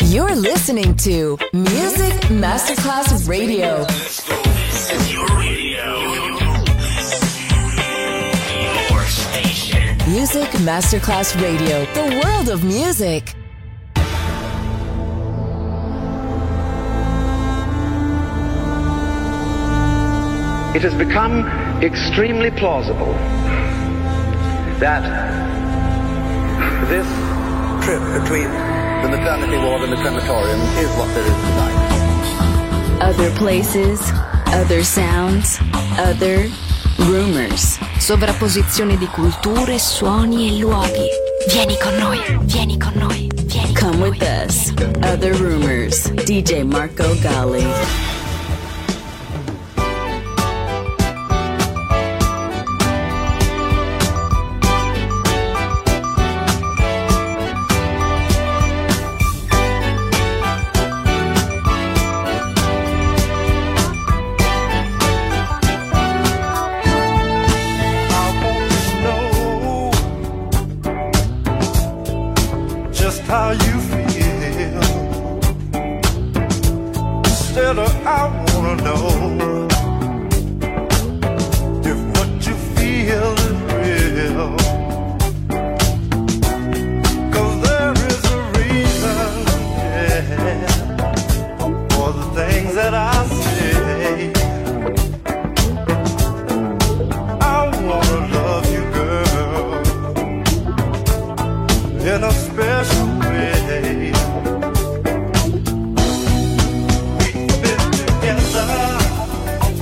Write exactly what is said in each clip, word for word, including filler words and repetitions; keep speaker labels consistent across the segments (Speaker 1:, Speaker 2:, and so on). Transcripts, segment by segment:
Speaker 1: You're listening to Music Masterclass Radio.
Speaker 2: This is your radio. Your station.
Speaker 1: Music Masterclass Radio. The world of music.
Speaker 3: It has become extremely plausible that this trip between the maternity ward and the crematorium is what there is tonight.
Speaker 4: Other places, other sounds, other rumors. Sovrapposizione di culture, suoni e luoghi. Vieni con noi, vieni con noi, vieni con Come noi. With us. Other Rumors. D J Marco Gally.
Speaker 5: How you feel, instead of I wanna know if what you feel is real, 'cause there is a reason, yeah, for the things that I say. I wanna love you, girl, in a special way. We've been together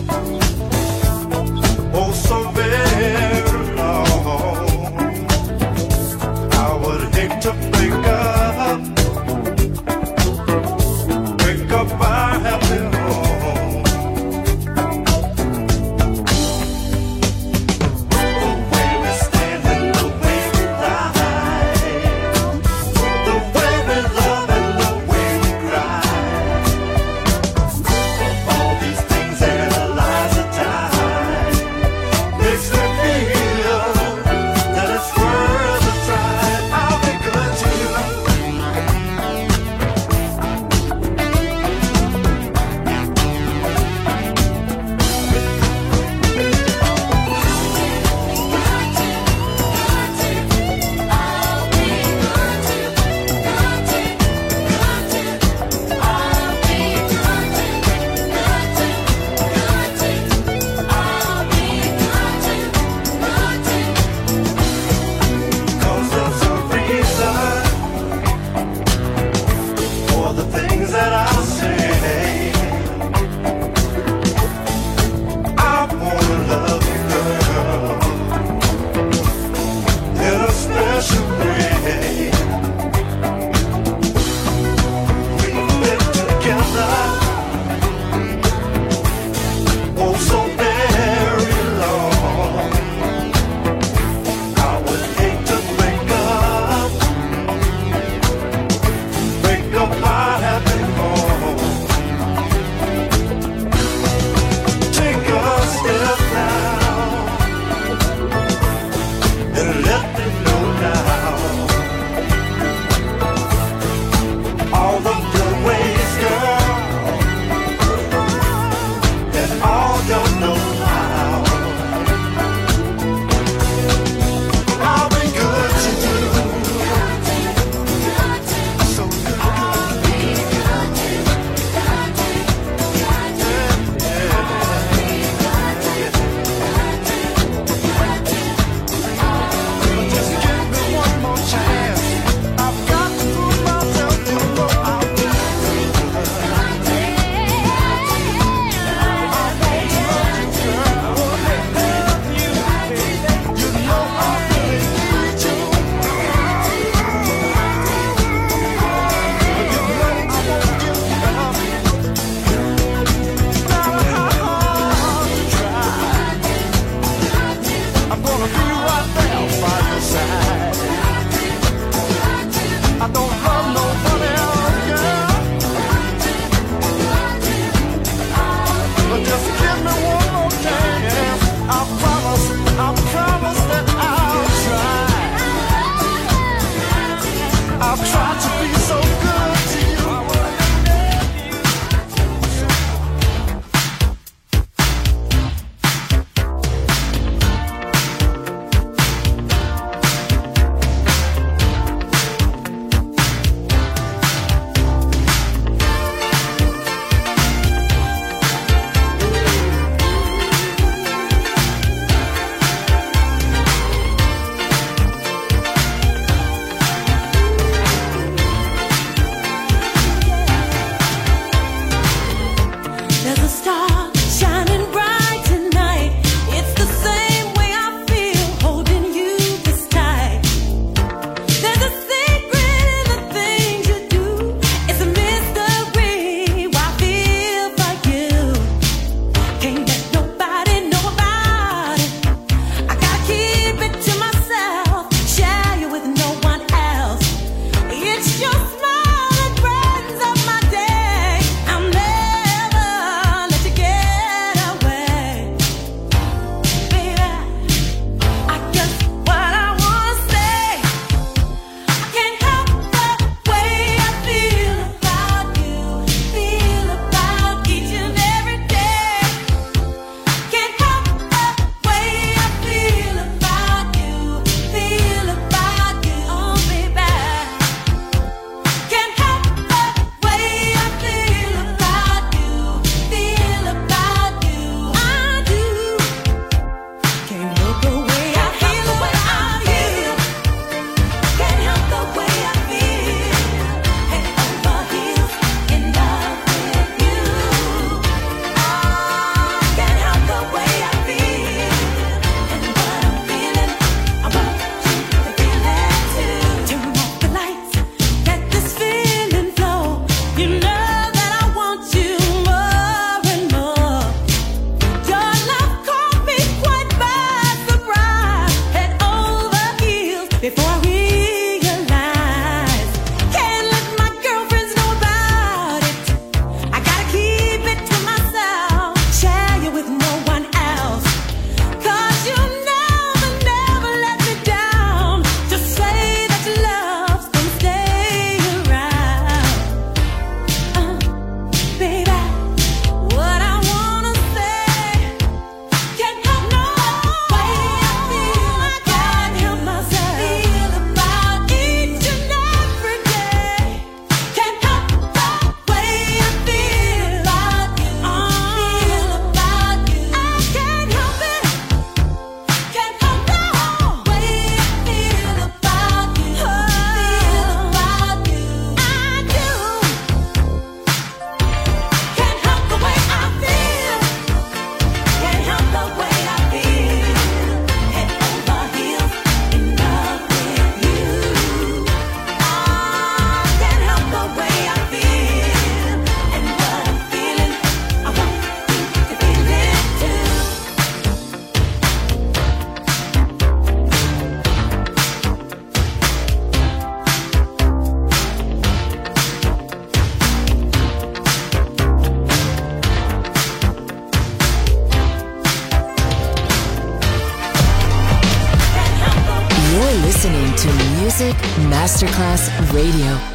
Speaker 1: Masterclass Radio.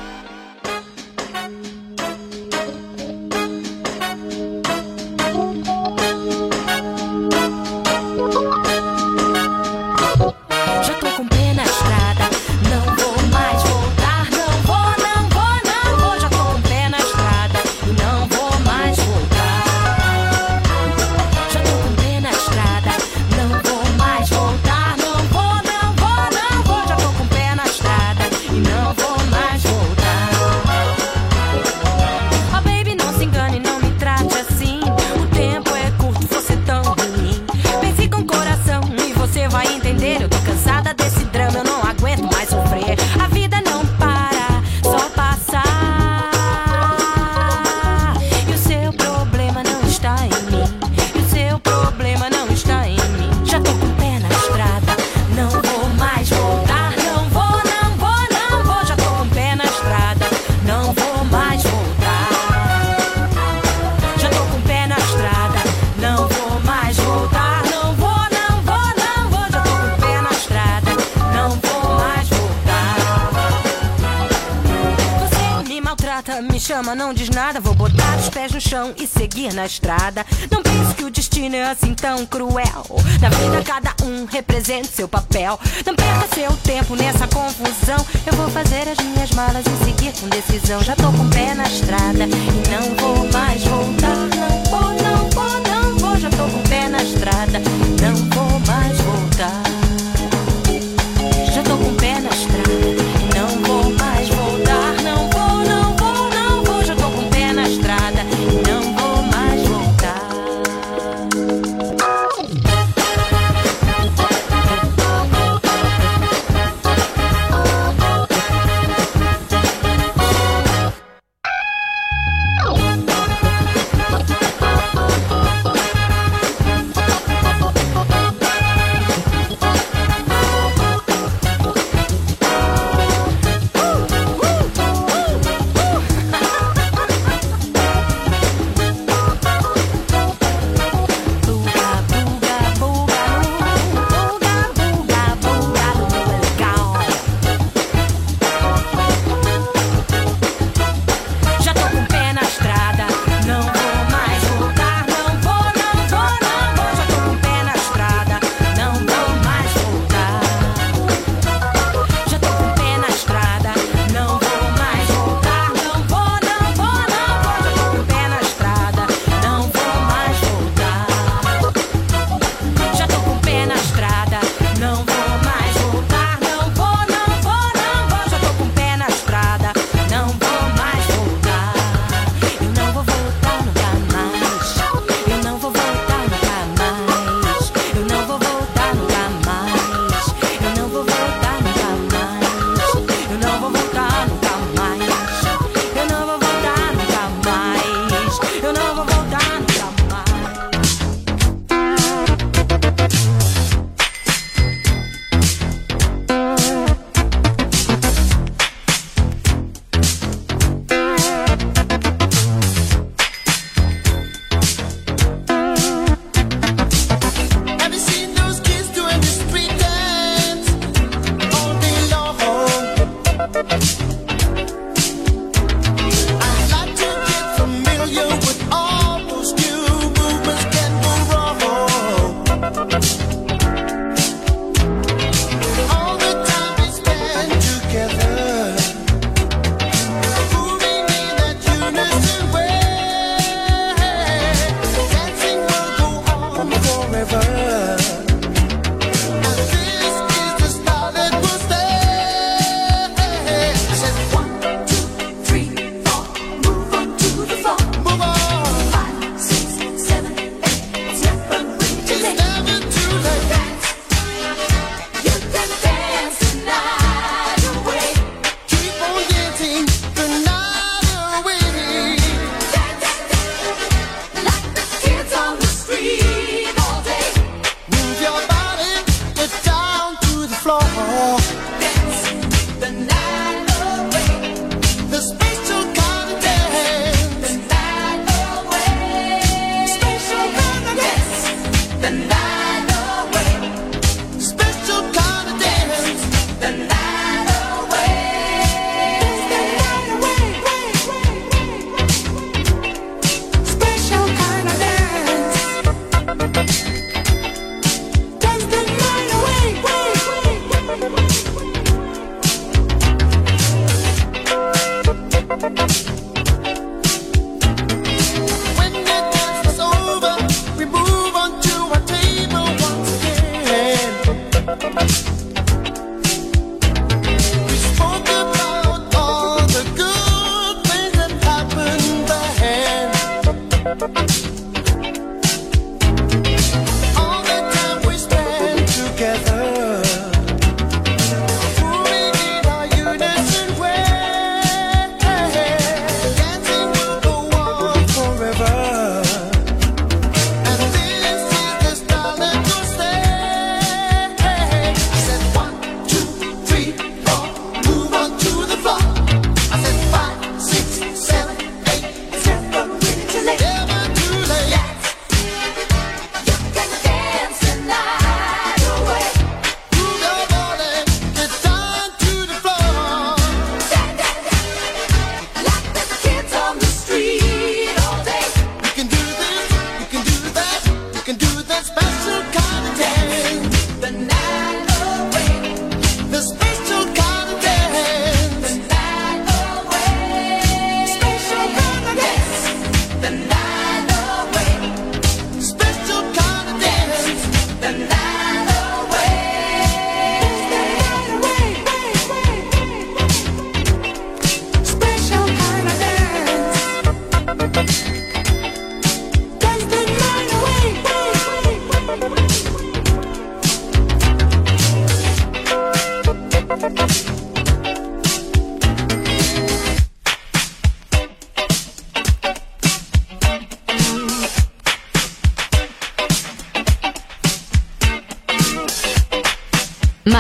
Speaker 6: Não diz nada, vou botar os pés no chão e seguir na estrada. Não pense que o destino é assim tão cruel. Na vida cada um representa seu papel. Não perca seu tempo nessa confusão. Eu vou fazer as minhas malas e seguir com decisão. Já tô com o pé na estrada e não vou mais voltar. Não vou, não vou, não vou. Já tô com o pé na estrada, não vou mais voltar. Já tô com o pé na estrada e não vou mais voltar. Não vou, não vou, não vou. Já tô com o pé na estrada e não vou mais voltar.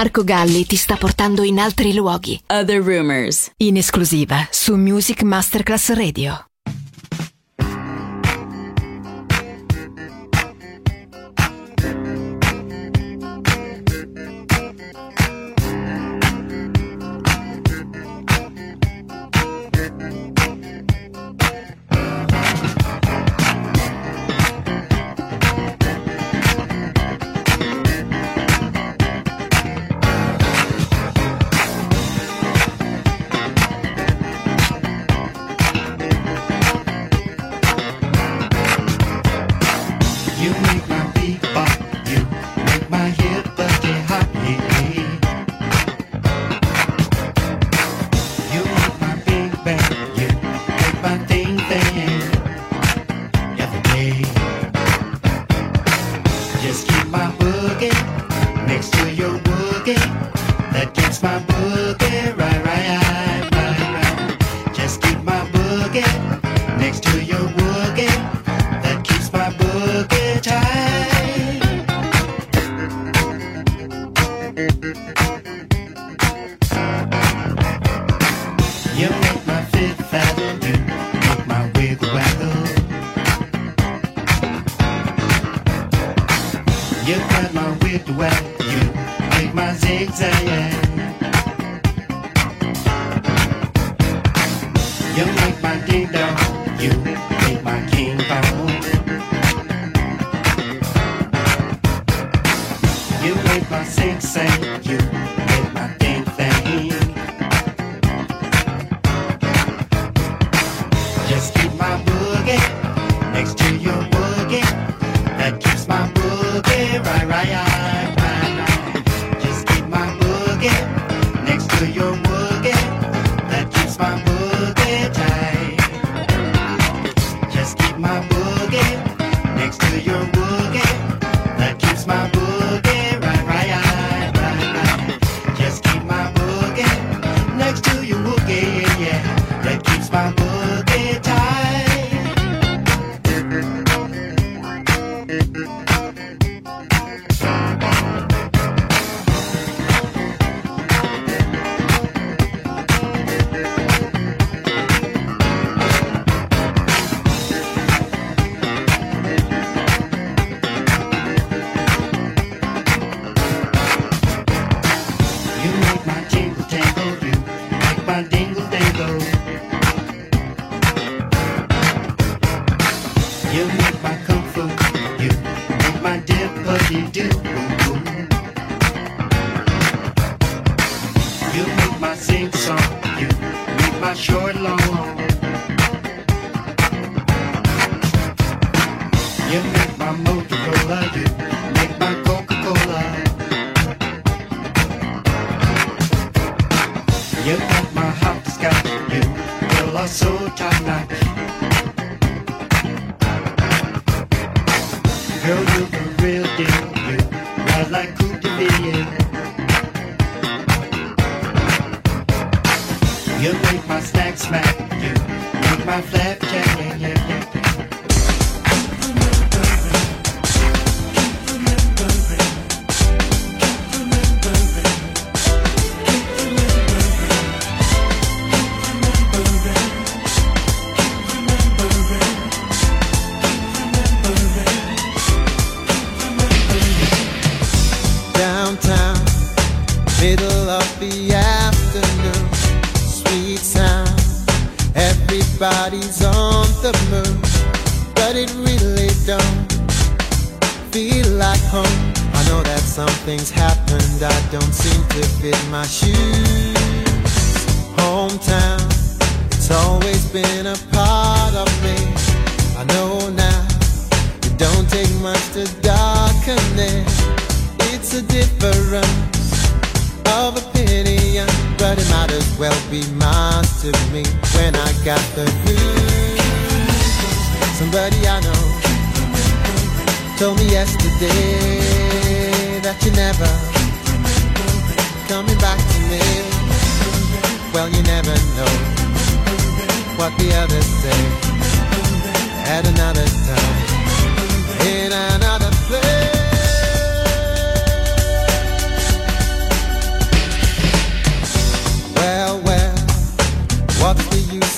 Speaker 4: Marco Galli ti sta portando in altri luoghi. Other Rumors, in esclusiva su Music Masterclass Radio.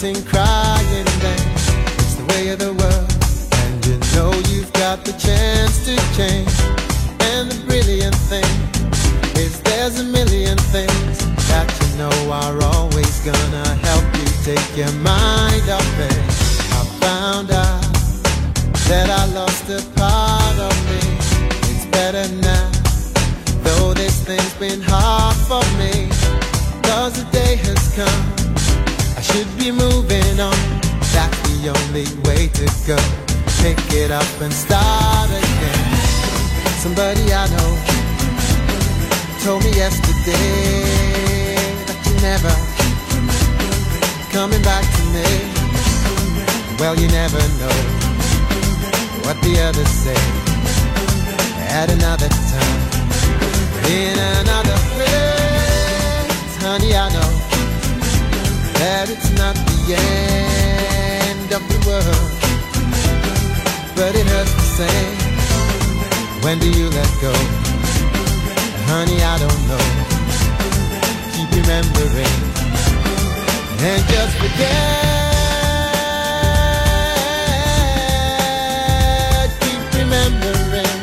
Speaker 7: sing, crying then. It's the way of the world, and you know you've got the chance to change. And the brilliant thing is there's a million things that you know are always gonna help you take your mind off it. I found out that I lost a part of me. It's better now, though this thing's been hard for me. Cause the day has come, I should be moving on. That's the only way to go. Pick it up and start again. Somebody I know told me yesterday that you're never coming back to me. Well, you never know what the others say. At another time, in another place, honey, I know that it's not the end of the world, but it hurts the same. When do you let go? Honey, I don't know. Keep remembering and just forget. Keep remembering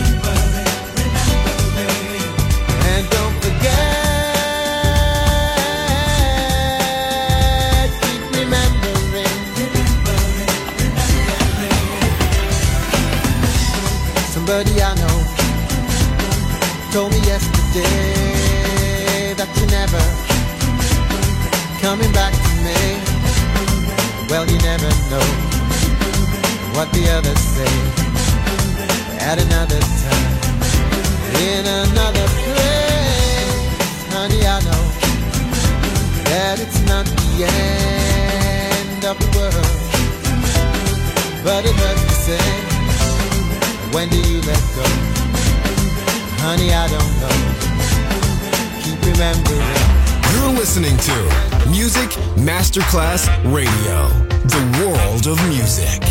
Speaker 7: and don't forget. Keep remembering. Somebody I know told me yesterday that you're never coming back to me. Well, you never know what the others say. At another time, in another place, honey, I know that it's not the end of the world, but it hurts the same. When do you let go? Honey, I don't know. Keep remembering.
Speaker 8: You're listening to Music Masterclass Radio, the world of music.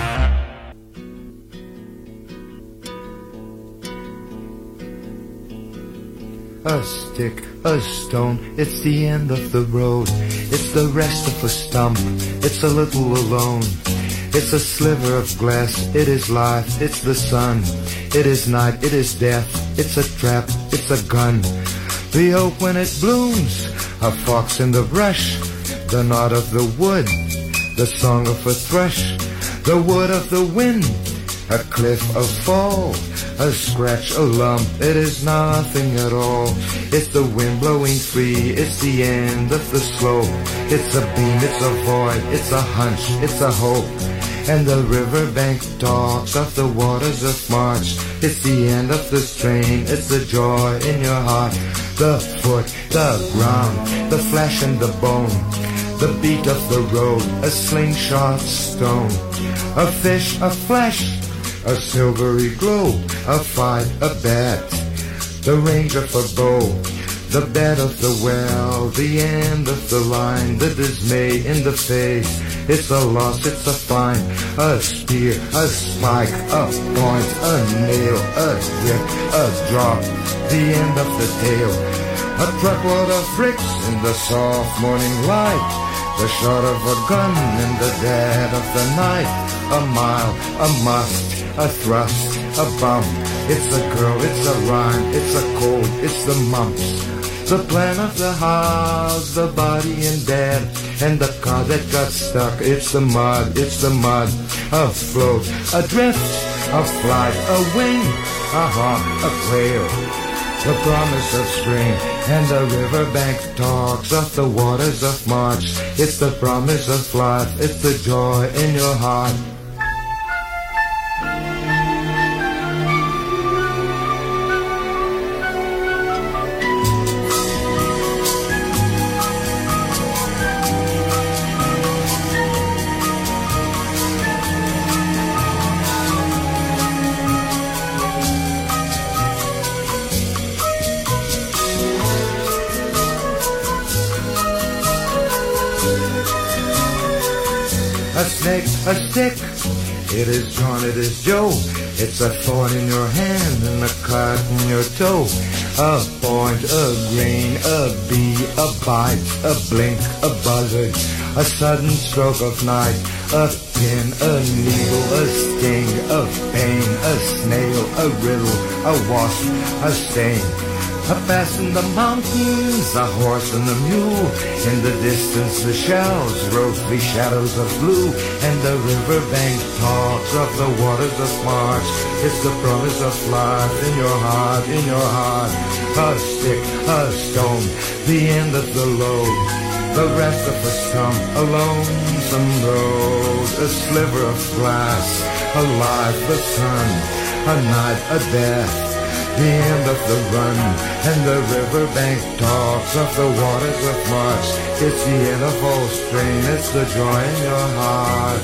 Speaker 9: A stick, a stone, it's the end of the road. It's the rest of a stump, it's a little alone. It's a sliver of glass, it is life, it's the sun. It is night, it is death, it's a trap, it's a gun. The oak when it blooms, a fox in the brush, the nod of the wood, the song of a thrush, the wood of the wind, a cliff, a fall, a scratch, a lump, it is nothing at all. It's the wind blowing free, it's the end of the slope. It's a beam, it's a void, it's a hunch, it's a hope. And the riverbank talks of the waters of March. It's the end of the strain, it's the joy in your heart. The foot, the ground, the flesh and the bone, the beat of the road, a slingshot stone. A fish, a flesh, a silvery glow, a fight, a bet, the range of a bow, the bed of the well, the end of the line, the dismay in the face. It's a loss, it's a find, a spear, a spike, a point, a nail, a grip, a drop, the end of the tail. A truckload of bricks in the soft morning light, the shot of a gun in the dead of the night. A mile, a must, a thrust, a bump. It's a girl, it's a rhyme, it's a cold, it's the mumps. The plan of the house, the body in bed, and the car that got stuck. It's the mud, it's the mud. Afloat, adrift, a flight, a wing, a hawk, a quail. The promise of spring, and the riverbank talks of the waters of March. It's the promise of life, it's the joy in your heart. A snake, a stick, it is John, it is Joe. It's a thorn in your hand and a cut in your toe. A point, a grain, a bee, a bite, a blink, a buzzard, a sudden stroke of night, a pin, a needle, a sting, a pain, a snail, a riddle, a wasp, a stain. A pass in the mountains, a horse and a mule. In the distance the shells rose the shadows of blue. And the riverbank talks of the waters of March. It's the promise of life in your heart, in your heart. A stick, a stone, the end of the load. The rest of a stump, a lonesome road. A sliver of glass, a life, the sun. A night, a death. The end of the run, and the riverbank talks of the waters of March. It's the end of all strain, it's the joy in your heart.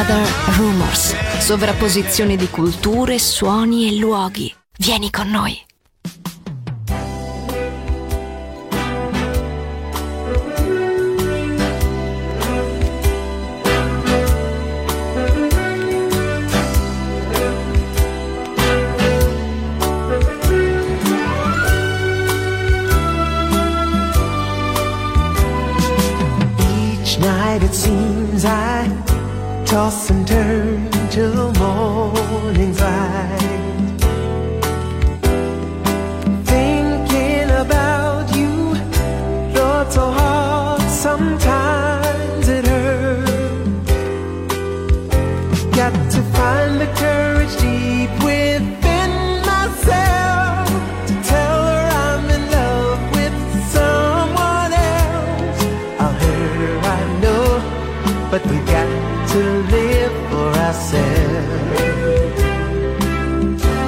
Speaker 4: Other Rumors, sovrapposizione di culture, suoni e luoghi. Vieni con noi.
Speaker 10: Night it seems I toss and turn till morning's light, thinking about you, Lord, so hard sometimes it hurts. Got to find the courage deep within myself to tell her I'm in love with someone else. I'll hurt her, I know, but we got to live for ourselves.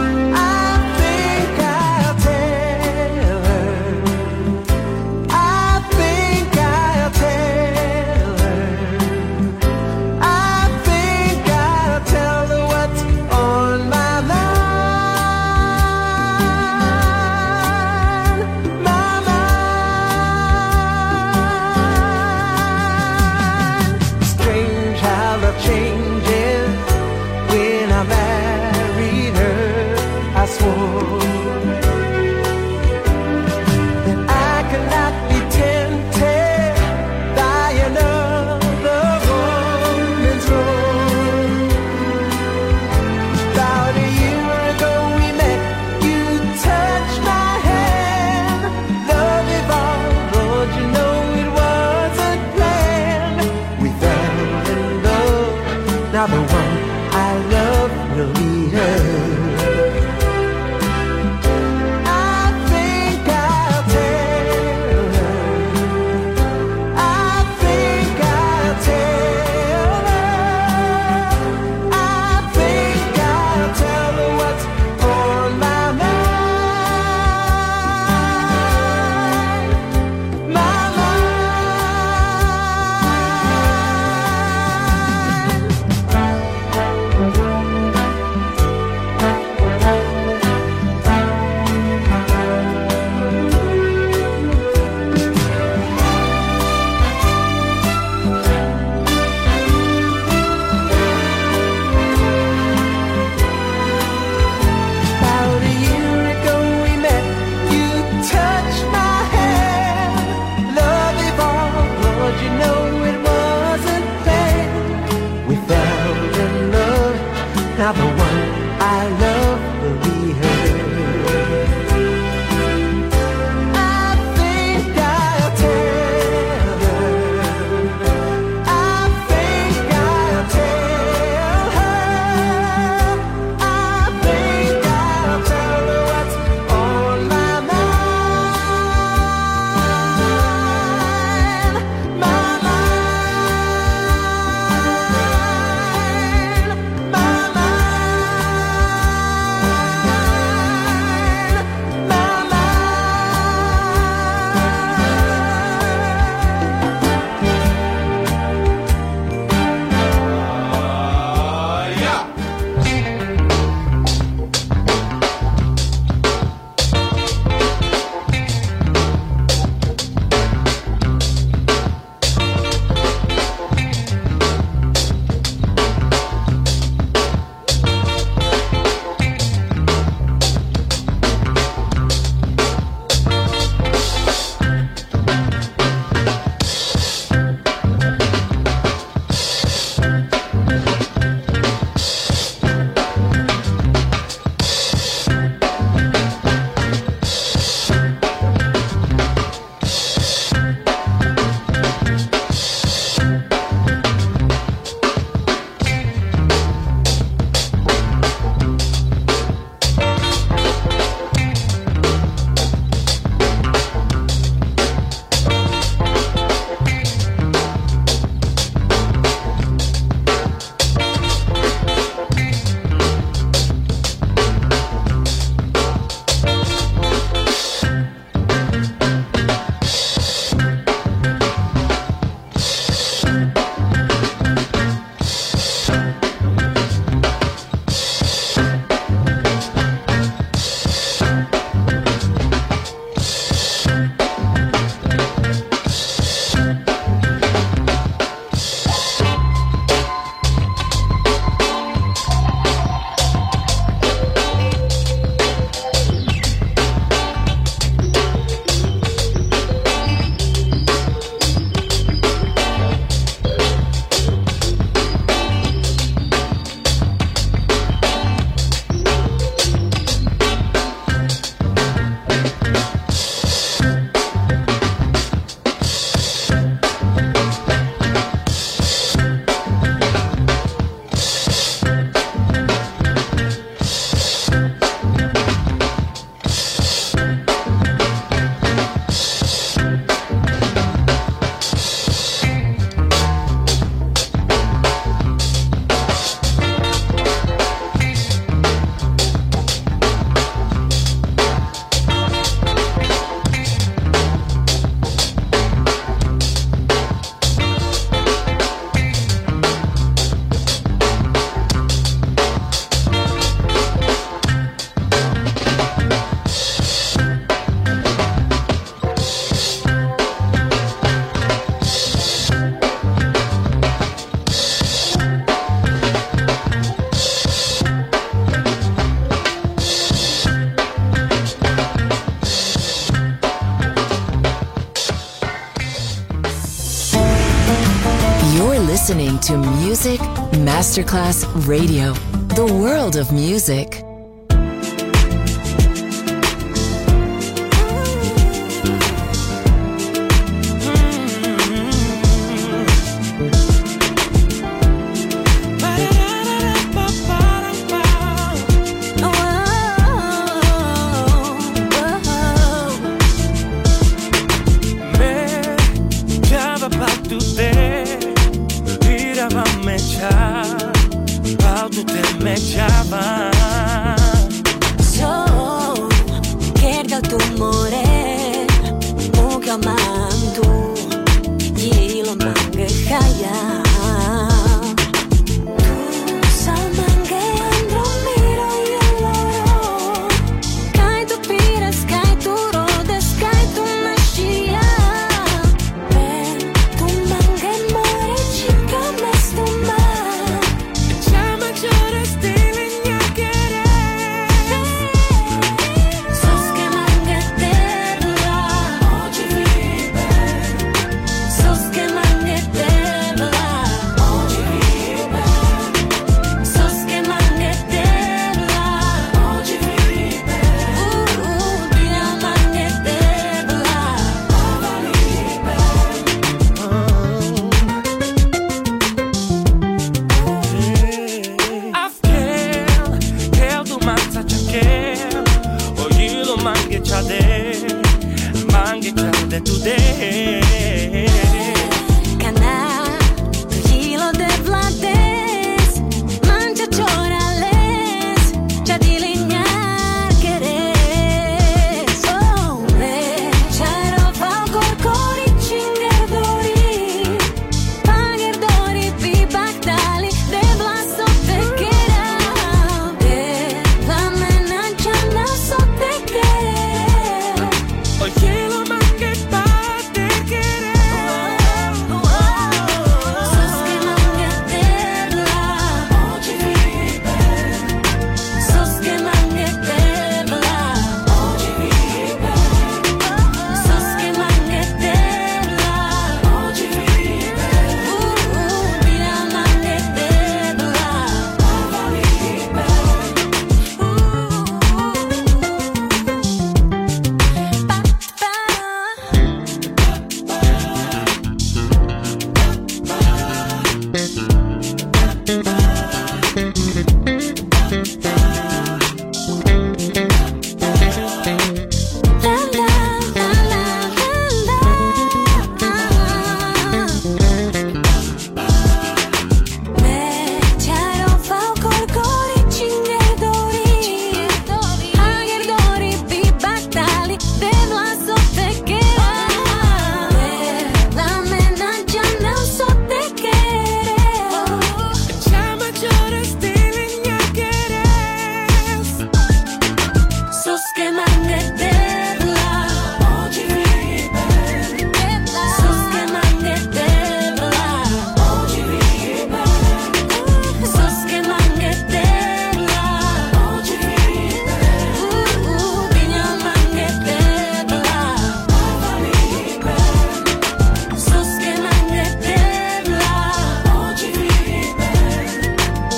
Speaker 1: listening to Music Masterclass Radio, the world of music.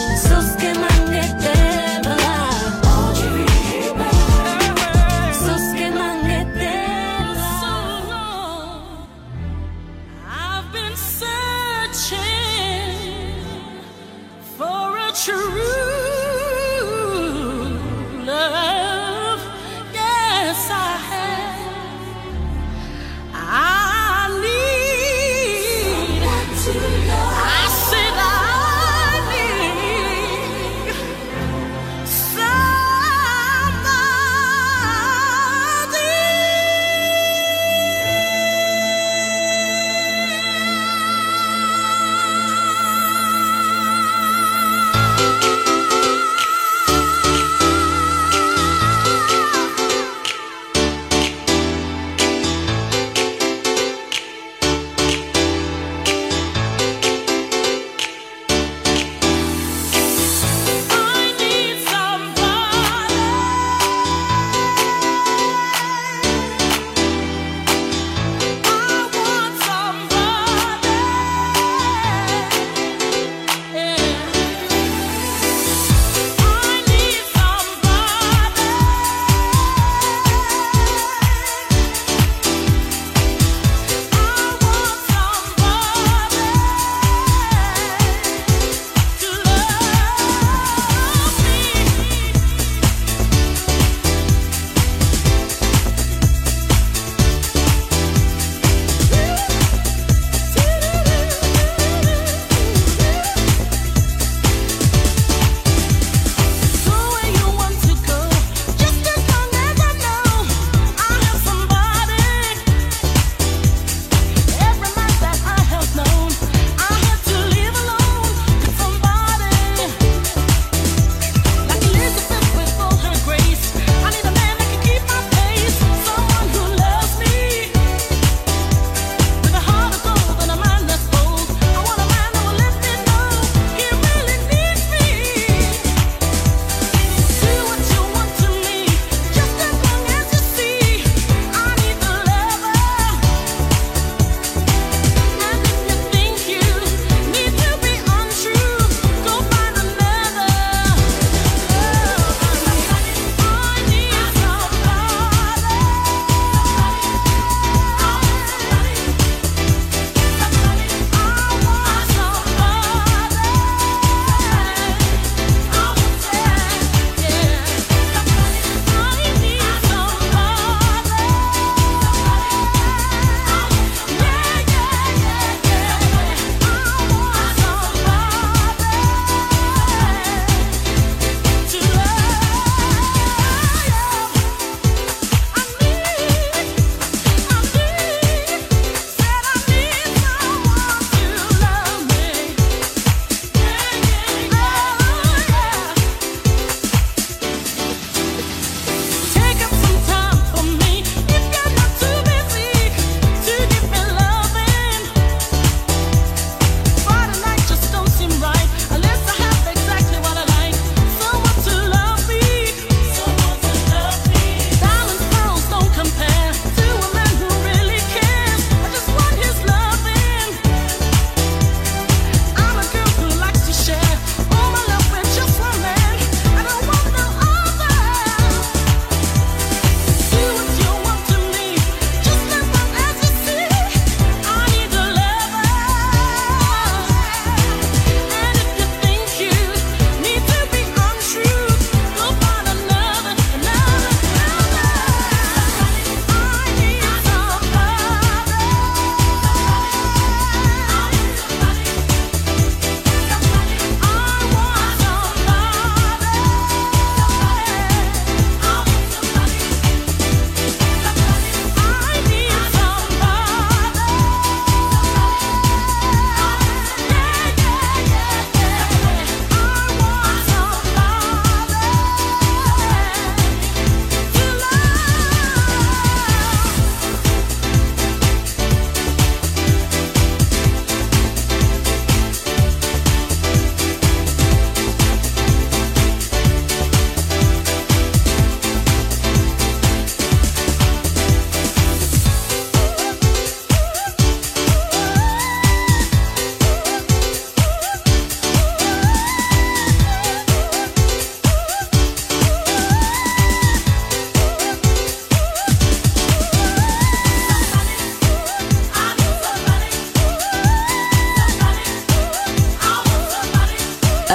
Speaker 11: Sos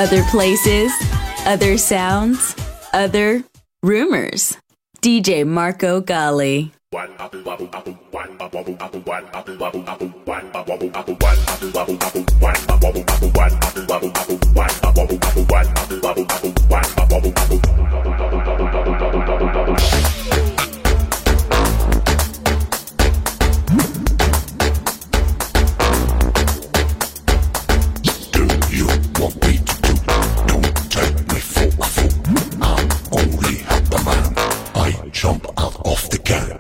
Speaker 4: Other places, other sounds, other rumors. D J Marco Gally.
Speaker 11: Jump out of the can.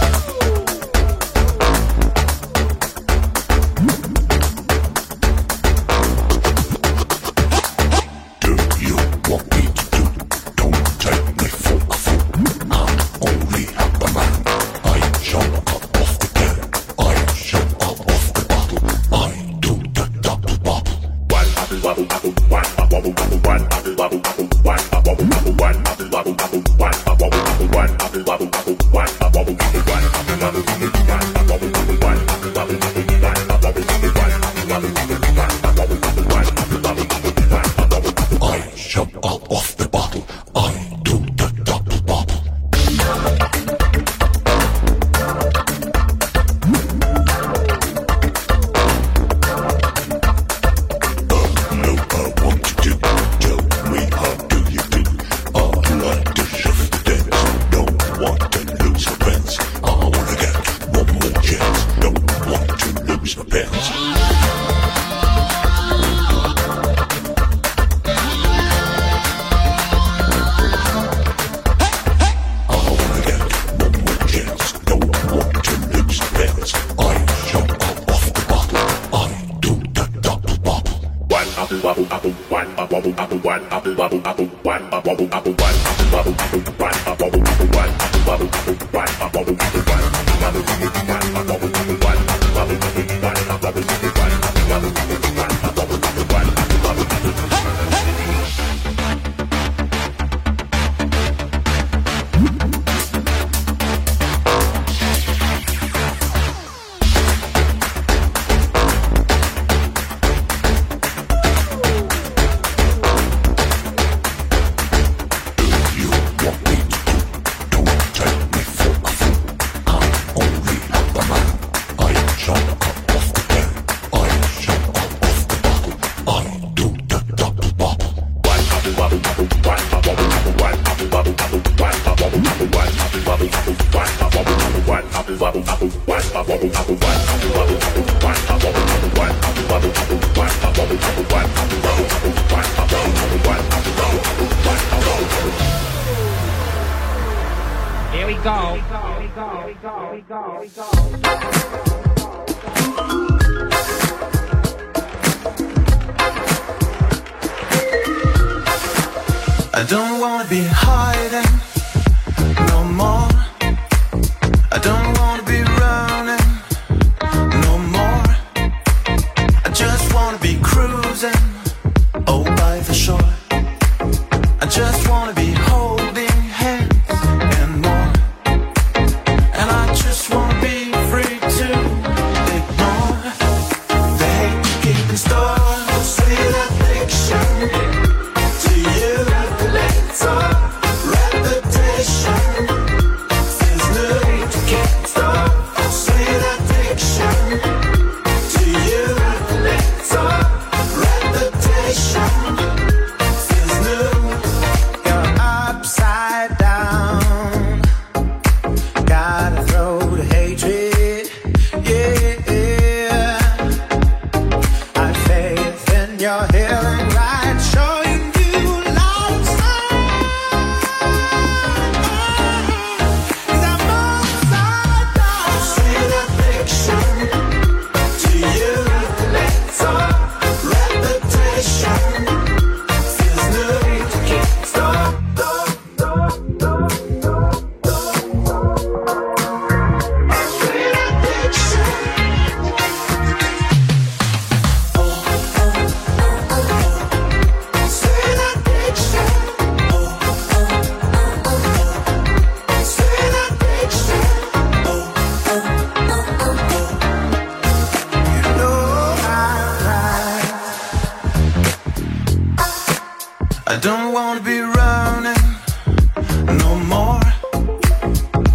Speaker 11: Do you want me to do? Don't take me for a fool. I'm only half a man. I jump out of the can. I jump out of the bottle. I do the double bubble. One bubble bubble bubble. One bubble bubble one bubble bubble bubble. One bubble bubble one bubble bubble bubble. One bubble bubble one bubble bubble bubble. One bubble bubble one bubble bubble bubble. One bubble bubble one bubble bubble bubble. One bubble bubble one bubble bubble bubble. One bubble bubble one bubble bubble bubble. One bubble bubble. I jump out of the bottle. I do the double bubble.
Speaker 12: Here we go.
Speaker 10: I don't wanna be hiding no more. I don't wanna be running no more. I just wanna be cruising, oh, by the shore. I just wanna be holding hands and more. And I just wanna be free to ignore the hate you keep in store, the sweet addiction to you. Reputation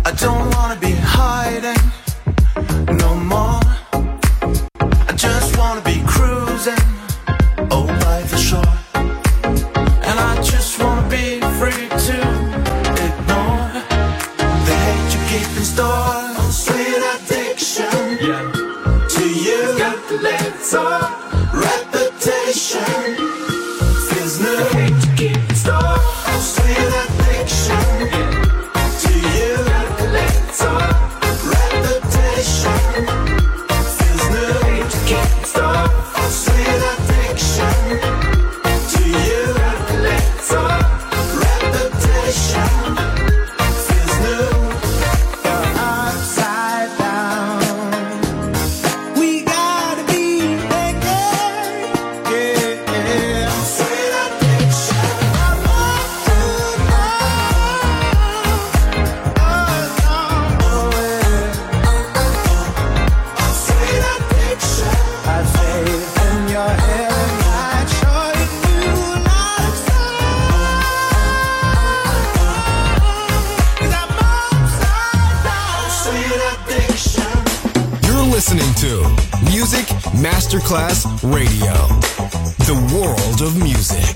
Speaker 10: I don't wanna be hiding no more. I just wanna be cruising, oh, by the shore. And I just wanna be free to ignore the hate you keep in store. Sweet addiction, yeah. To you, got the little reputation. Feels new, the hate you keep in store. Sweet addiction, yeah. To you, got the little reputation. Feels new, the hate you keep in store. Sweet addiction. To you, got the little reputation. Feels new. You're upside down. We gotta be naked, yeah. Sweet addiction. I want to know. Oh, no, oh, yeah. Sweet addiction. I'd faith in your head. I'd show you like Cause I'm upside down. Sweet addiction.
Speaker 8: You're listening to Music Masterclass Radio, the world of music.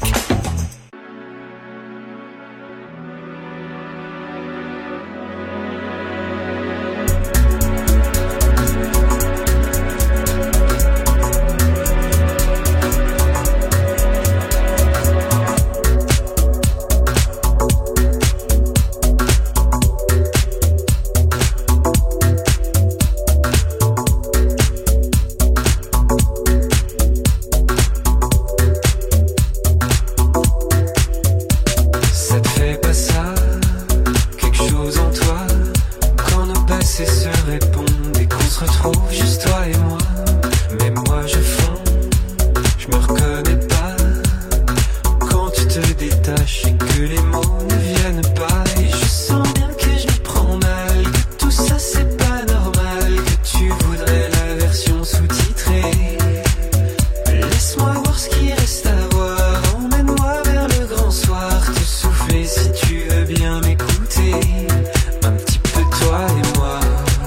Speaker 13: Ça te fait pas ça, quelque chose en toi, quand nos passés se répondent et qu'on se retrouve juste toi et moi. Mais moi je fonds, je me reconnais pas, quand tu te détaches et que les mots ne viennent pas. Et je sens bien que je me prends mal, que tout ça c'est pas normal, que tu voudrais la version sous-titrée. Laisse-moi voir ce qui reste à voir, emmène-moi vers le grand soir, te souffler si tu veux bien m'écouter, un petit peu toi et moi.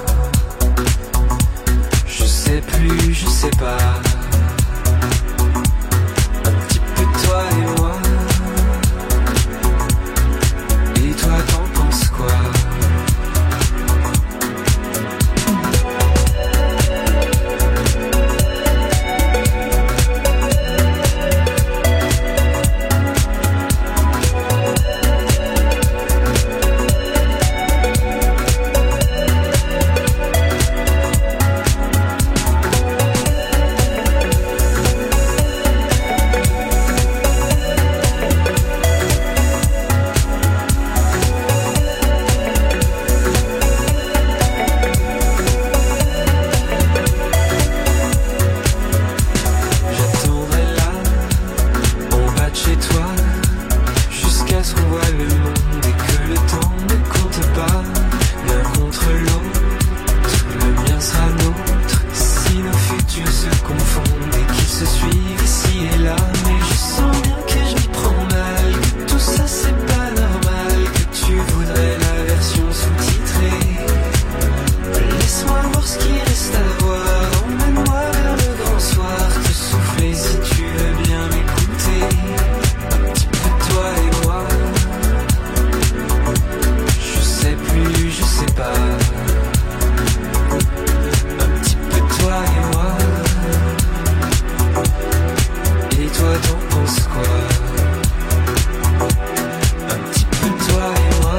Speaker 13: Je sais plus, je sais pas, un petit peu toi et moi. Et toi t'en penses quoi? J'attendrai là, en bas de chez toi, jusqu'à ce qu'on voit le monde et que le temps ne compte pas. L'un contre l'autre, le mien sera nôtre. Si nos futurs se confondent et qu'ils se suivent ici et là. Mais je sens bien que je m'y prends mal, que tout ça c'est pas normal, que tu voudrais la version sous-titrée. Laisse-moi voir ce qui reste à voir, emmène-moi vers le grand soir, te souffler si tu veux bien m'écouter, un petit peu toi et moi. Je sais plus, je sais pas, un petit peu toi et moi. Et toi t'en penses quoi? Un petit peu toi et moi.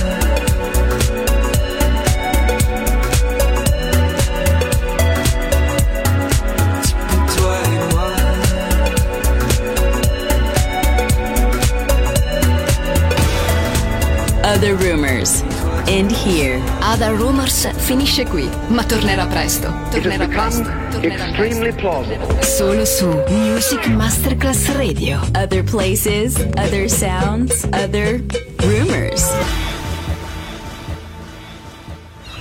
Speaker 13: Toi et moi.
Speaker 4: Other Rumors. End here. Other Rumors finisce qui, ma tornerà presto. Tornerà presto. Tornerà
Speaker 3: Extremely plausible.
Speaker 4: Solo su Music Masterclass Radio. Other places, other sounds, other rumors.